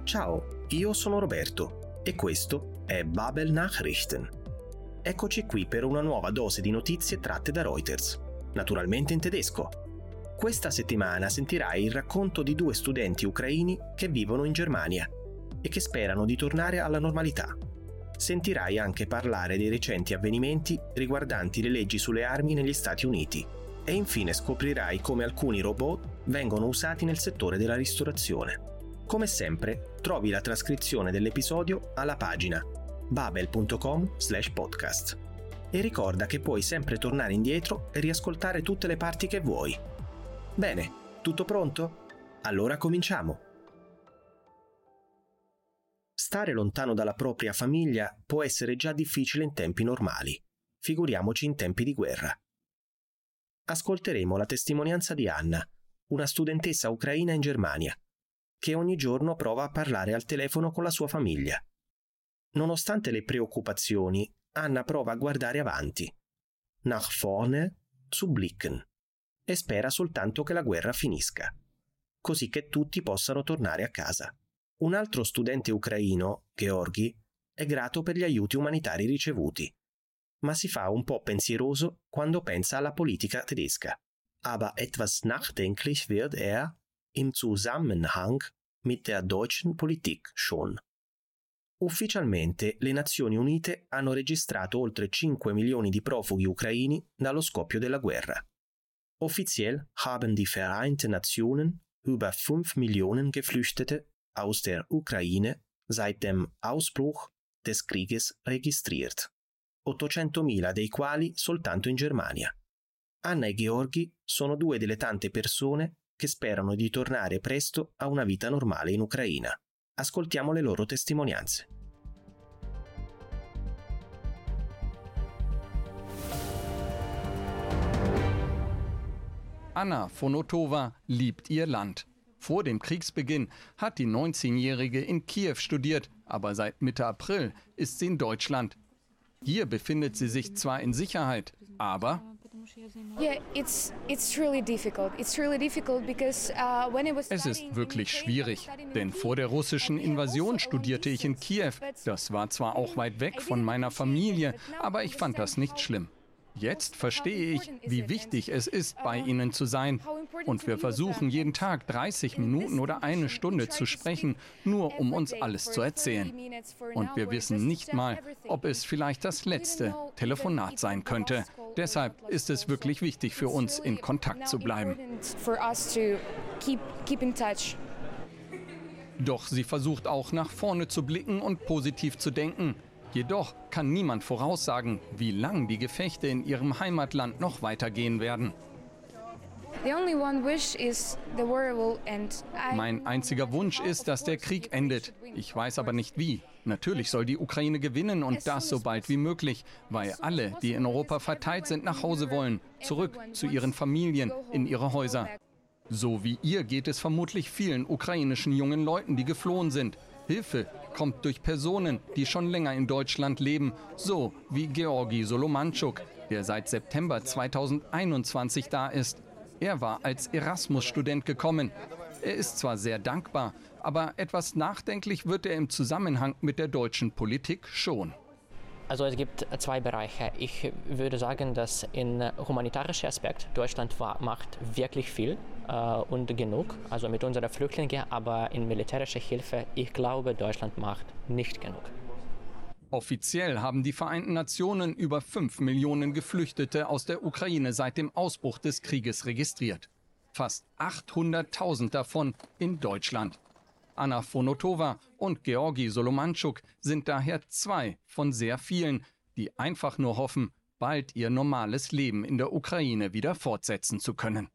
Ciao, io sono Roberto e questo è Babel Nachrichten. Eccoci qui per una nuova dose di notizie tratte da Reuters, naturalmente in tedesco. Questa settimana sentirai il racconto di 2 studenti ucraini che vivono in Germania e che sperano di tornare alla normalità. Sentirai anche parlare dei recenti avvenimenti riguardanti le leggi sulle armi negli Stati Uniti e infine scoprirai come alcuni robot vengono usati nel settore della ristorazione. Come sempre, trovi la trascrizione dell'episodio alla pagina babel.com/podcast. E ricorda che puoi sempre tornare indietro e riascoltare tutte le parti che vuoi. Bene, tutto pronto? Allora cominciamo! Stare lontano dalla propria famiglia può essere già difficile in tempi normali, figuriamoci in tempi di guerra. Ascolteremo la testimonianza di Anna, una studentessa ucraina in Germania, che ogni giorno prova a parlare al telefono con la sua famiglia. Nonostante le preoccupazioni, Anna prova a guardare avanti, nach vorne zu blicken, e spera soltanto che la guerra finisca, così che tutti possano tornare a casa. Un altro studente ucraino, Georgi, è grato per gli aiuti umanitari ricevuti, ma si fa un po' pensieroso quando pensa alla politica tedesca. Aber etwas nachdenklich wird im Zusammenhang mit der deutschen Politik schon. Ufficialmente le Nazioni Unite hanno registrato oltre 5 milioni di profughi ucraini dallo scoppio della guerra. Offiziell haben die Vereinten Nationen über 5 Millionen Geflüchtete aus der Ukraine seit dem Ausbruch des Krieges registriert, 800.000 dei quali soltanto in Germania. Anna e Georgi sono 2 delle tante persone che sperano di tornare presto a una vita normale in Ucraina. Ascoltiamo le loro testimonianze. Anna Fonotova liebt ihr Land. Vor dem Kriegsbeginn hat die 19-Jährige in Kiew studiert, aber seit Mitte April ist sie in Deutschland. Hier befindet sie sich zwar in Sicherheit, aber es ist wirklich schwierig, denn vor der russischen Invasion studierte ich in Kiew. Das war zwar auch weit weg von meiner Familie, aber ich fand das nicht schlimm. Jetzt verstehe ich, wie wichtig es ist, bei ihnen zu sein. Und wir versuchen jeden Tag 30 Minuten oder 1 Stunde zu sprechen, nur um uns alles zu erzählen. Und wir wissen nicht mal, ob es vielleicht das letzte Telefonat sein könnte. Deshalb ist es wirklich wichtig für uns, in Kontakt zu bleiben. Doch sie versucht auch nach vorne zu blicken und positiv zu denken. Jedoch kann niemand voraussagen, wie lang die Gefechte in ihrem Heimatland noch weitergehen werden. Mein einziger Wunsch ist, dass der Krieg endet. Ich weiß aber nicht wie. Natürlich soll die Ukraine gewinnen und das so bald wie möglich, weil alle, die in Europa verteilt sind, nach Hause wollen, zurück zu ihren Familien, in ihre Häuser. So wie ihr geht es vermutlich vielen ukrainischen jungen Leuten, die geflohen sind. Hilfe kommt durch Personen, die schon länger in Deutschland leben, so wie Georgi Solomanchuk, der seit September 2021 da ist. Er war als Erasmus-Student gekommen. Er ist zwar sehr dankbar, aber etwas nachdenklich wird er im Zusammenhang mit der deutschen Politik schon. Also es gibt 2 Bereiche. Ich würde sagen, dass in humanitarischer Aspekt Deutschland macht wirklich viel und genug, also mit unseren Flüchtlingen, aber in militärischer Hilfe, ich glaube, Deutschland macht nicht genug. Offiziell haben die Vereinten Nationen über 5 Millionen Geflüchtete aus der Ukraine seit dem Ausbruch des Krieges registriert. Fast 800.000 davon in Deutschland. Anna Fonotova und Georgi Solomanchuk sind daher 2 von sehr vielen, die einfach nur hoffen, bald ihr normales Leben in der Ukraine wieder fortsetzen zu können.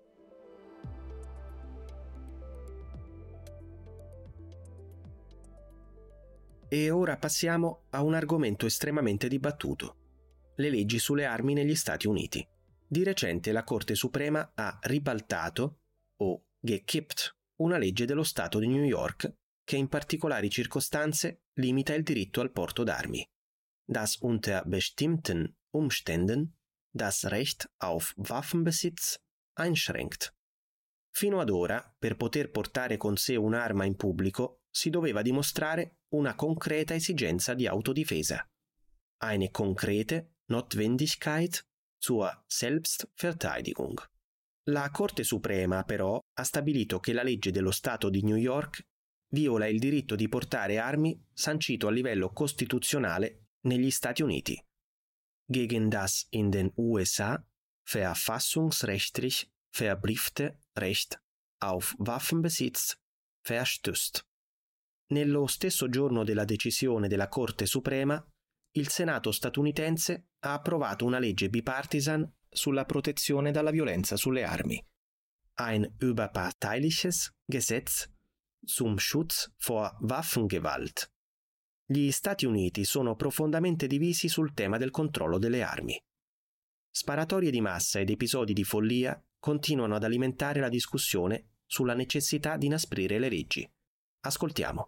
E ora passiamo a un argomento estremamente dibattuto: le leggi sulle armi negli Stati Uniti. Di recente la Corte Suprema ha ribaltato, o gekippt, una legge dello Stato di New York che in particolari circostanze limita il diritto al porto d'armi. Das unter bestimmten Umständen das Recht auf Waffenbesitz einschränkt. Fino ad ora, per poter portare con sé un'arma in pubblico, si doveva dimostrare una concreta esigenza di autodifesa. Eine konkrete Notwendigkeit zur Selbstverteidigung. La Corte Suprema, però, ha stabilito che la legge dello Stato di New York viola il diritto di portare armi sancito a livello costituzionale negli Stati Uniti. Gegen das in den USA verfassungsrechtlich verbriefte Recht auf Waffenbesitz verstößt. Nello stesso giorno della decisione della Corte Suprema, il Senato statunitense ha approvato una legge bipartisan sulla protezione dalla violenza sulle armi. Ein überparteiliches Gesetz zum Schutz vor Waffengewalt. Gli Stati Uniti sono profondamente divisi sul tema del controllo delle armi. Sparatorie di massa ed episodi di follia continuano ad alimentare la discussione sulla necessità di inasprire le leggi. Ascoltiamo.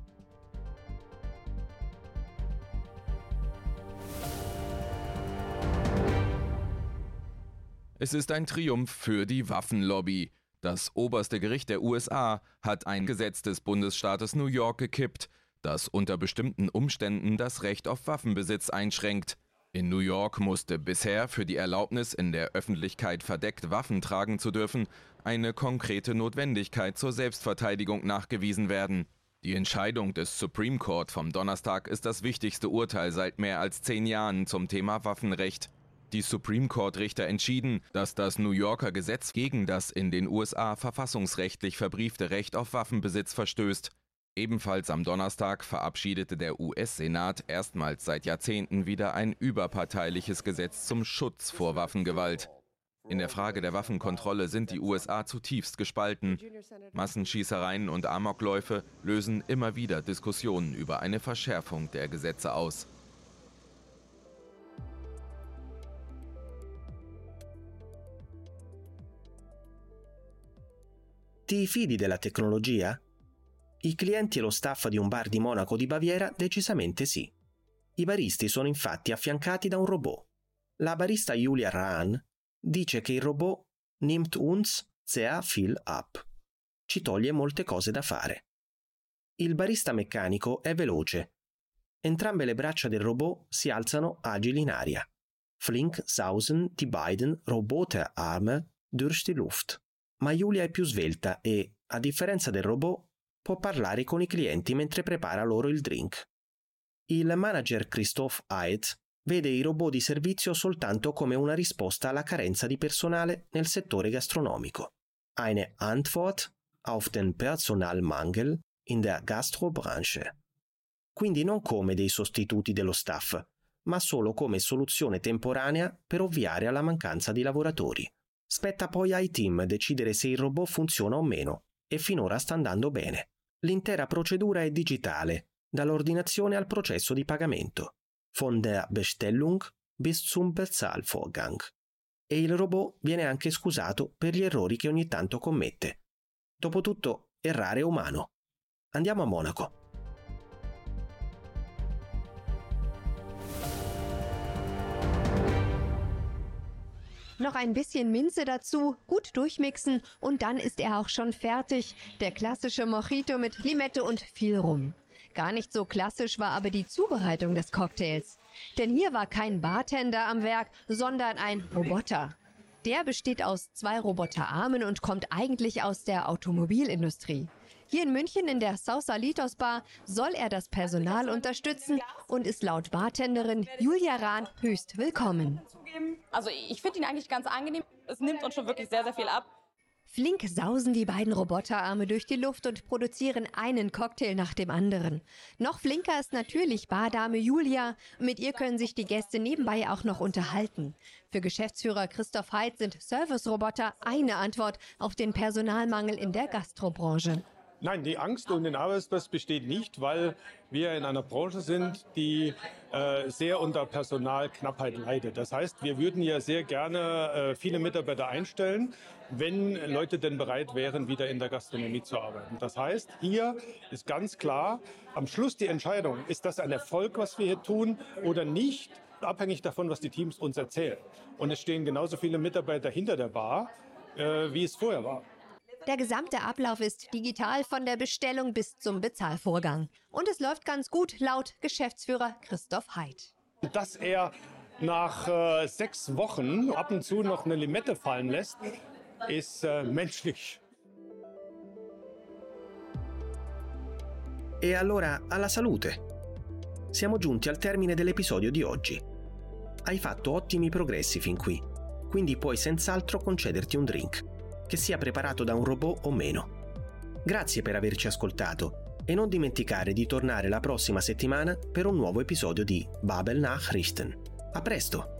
Es ist ein Triumph für die Waffenlobby. Das oberste Gericht der USA hat ein Gesetz des Bundesstaates New York gekippt, das unter bestimmten Umständen das Recht auf Waffenbesitz einschränkt. In New York musste bisher für die Erlaubnis, in der Öffentlichkeit verdeckt Waffen tragen zu dürfen, eine konkrete Notwendigkeit zur Selbstverteidigung nachgewiesen werden. Die Entscheidung des Supreme Court vom Donnerstag ist das wichtigste Urteil seit mehr als 10 Jahren zum Thema Waffenrecht. Die Supreme Court-Richter entschieden, dass das New Yorker Gesetz gegen das in den USA verfassungsrechtlich verbriefte Recht auf Waffenbesitz verstößt. Ebenfalls am Donnerstag verabschiedete der US-Senat erstmals seit Jahrzehnten wieder ein überparteiliches Gesetz zum Schutz vor Waffengewalt. In der Frage der Waffenkontrolle sind die USA zutiefst gespalten. Massenschießereien und Amokläufe lösen immer wieder Diskussionen über eine Verschärfung der Gesetze aus. Ti fidi della tecnologia? I clienti e lo staff di un bar di Monaco di Baviera decisamente sì. I baristi sono infatti affiancati da un robot. La barista Julia Rahn dice che il robot nimmt uns sehr viel ab. Ci toglie molte cose da fare. Il barista meccanico è veloce. Entrambe le braccia del robot si alzano agili in aria. Flink sausen die beiden Roboterarme durch die Luft. Ma Julia è più svelta e, a differenza del robot, può parlare con i clienti mentre prepara loro il drink. Il manager Christoph Aed vede i robot di servizio soltanto come una risposta alla carenza di personale nel settore gastronomico. Eine Antwort auf den Personalmangel in der Gastrobranche. Quindi non come dei sostituti dello staff, ma solo come soluzione temporanea per ovviare alla mancanza di lavoratori. Spetta poi ai team decidere se il robot funziona o meno, e finora sta andando bene. L'intera procedura è digitale, dall'ordinazione al processo di pagamento, von der Bestellung bis zum Bezahlvorgang. E il robot viene anche scusato per gli errori che ogni tanto commette. Dopotutto, errare è umano. Andiamo a Monaco. Noch ein bisschen Minze dazu, gut durchmixen und dann ist er auch schon fertig. Der klassische Mojito mit Limette und viel Rum. Gar nicht so klassisch war aber die Zubereitung des Cocktails. Denn hier war kein Bartender am Werk, sondern ein Roboter. Der besteht aus 2 Roboterarmen und kommt eigentlich aus der Automobilindustrie. Hier in München in der Sausalitos Bar soll er das Personal unterstützen und ist laut Bartenderin Julia Rahn höchst willkommen. Also ich finde ihn eigentlich ganz angenehm. Es nimmt uns schon wirklich sehr, sehr viel ab. Flink sausen die beiden Roboterarme durch die Luft und produzieren einen Cocktail nach dem anderen. Noch flinker ist natürlich Bardame Julia. Mit ihr können sich die Gäste nebenbei auch noch unterhalten. Für Geschäftsführer Christoph Heid sind Service-Roboter eine Antwort auf den Personalmangel in der Gastrobranche. Nein, die Angst um den Arbeitsplatz besteht nicht, weil wir in einer Branche sind, die sehr unter Personalknappheit leidet. Das heißt, wir würden ja sehr gerne viele Mitarbeiter einstellen, wenn Leute denn bereit wären, wieder in der Gastronomie zu arbeiten. Das heißt, hier ist ganz klar am Schluss die Entscheidung, ist das ein Erfolg, was wir hier tun oder nicht, abhängig davon, was die Teams uns erzählen. Und es stehen genauso viele Mitarbeiter hinter der Bar, wie es vorher war. Der gesamte Ablauf ist digital von der Bestellung bis zum Bezahlvorgang. Und es läuft ganz gut, laut Geschäftsführer Christoph Heid. Dass er nach 6 Wochen ab und zu noch eine Limette fallen lässt, ist menschlich. E allora alla salute! Siamo giunti al termine dell'episodio di oggi. Hai fatto ottimi progressi fin qui, quindi puoi senz'altro concederti un drink, che sia preparato da un robot o meno. Grazie per averci ascoltato e non dimenticare di tornare la prossima settimana per un nuovo episodio di Babel Nachrichten. A presto!